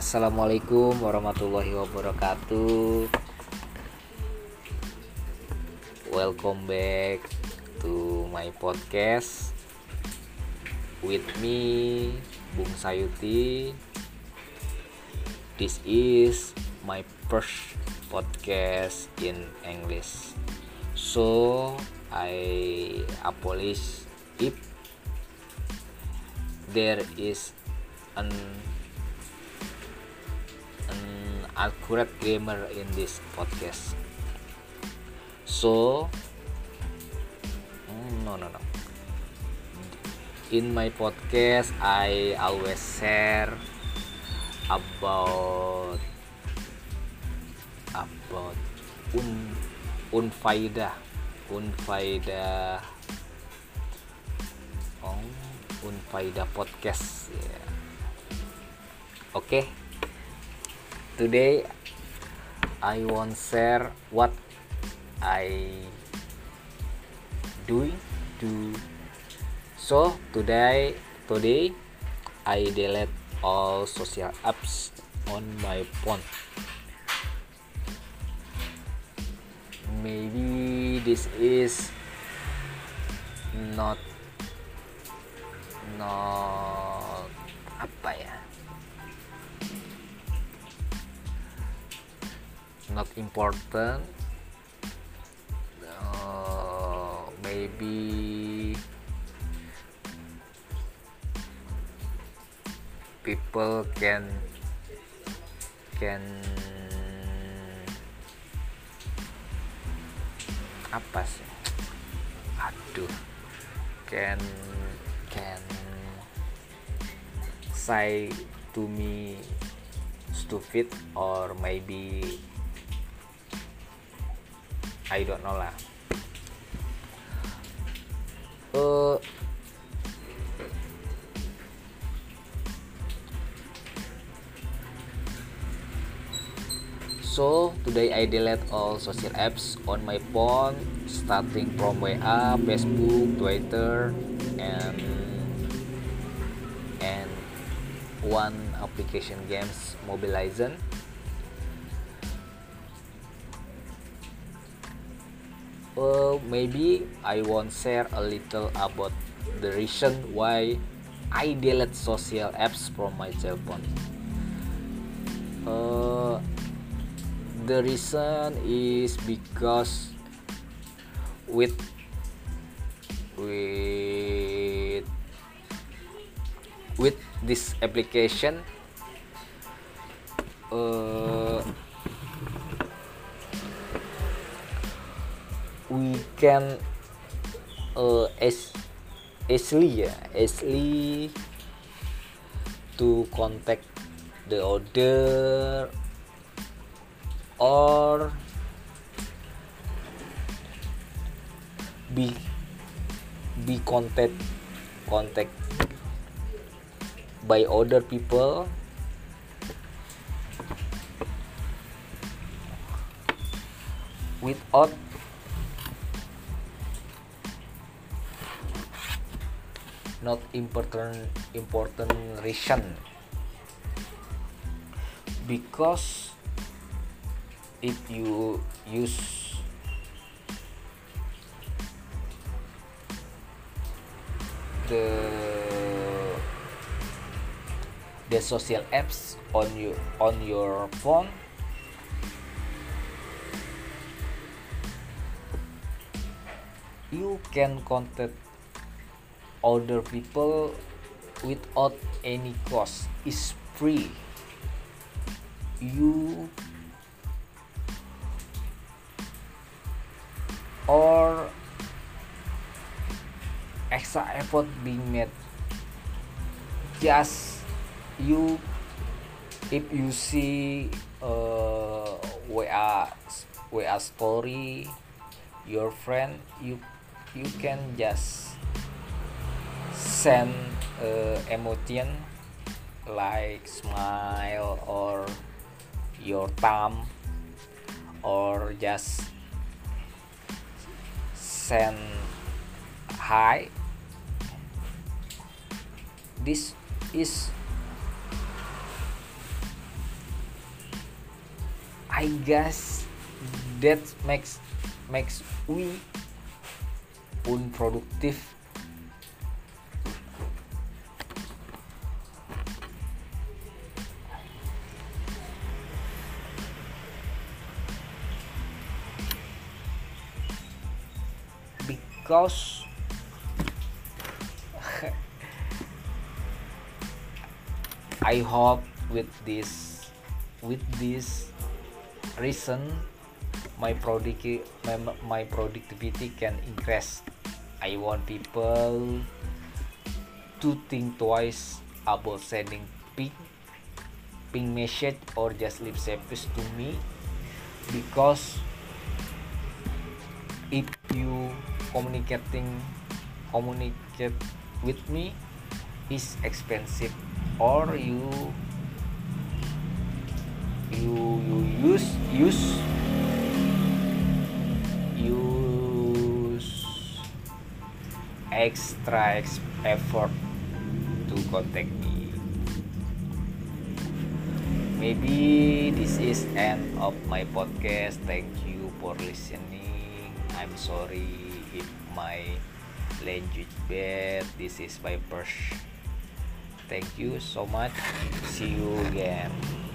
Assalamualaikum warahmatullahi wabarakatuh. Welcome back to my podcast with me, Bung Sayuti. This is my first podcast in English. So I apologize if there is an accurate grammar in this podcast. So no. In my podcast, I always share about unfaedah unfaedah podcast. Yeah. Okay. Today I want share what I do. So today I delete all social apps on my phone. Maybe this is not not important. Maybe people can apa sih? Can say to me stupid, or maybe I don't know lah. So today I delete all social apps on my phone, starting from WA, Facebook, Twitter, and one application games, Mobile Legends. Maybe I want share a little about the reason why I delete social apps from my cell phone. The reason is because with this application, we can easily to contact the other, or be contact by other people without not important reason, because if you use the social apps on your phone, you can contact other people without any cost. It's free. You or extra effort being made. Just you, if you see WA story your friend, you can just send emotion like smile or your thumb, or just send hi. This is I guess that makes we unproductive. Because I hope with this reason my productivity can increase. I want people to think twice about sending ping message or just leave service to me, because if you communicate with me is expensive, or you use extra effort to contact me. Maybe this is end of my podcast. Thank you for listening. I'm sorry if my language bad. This is my first. Thank you so much. See you again.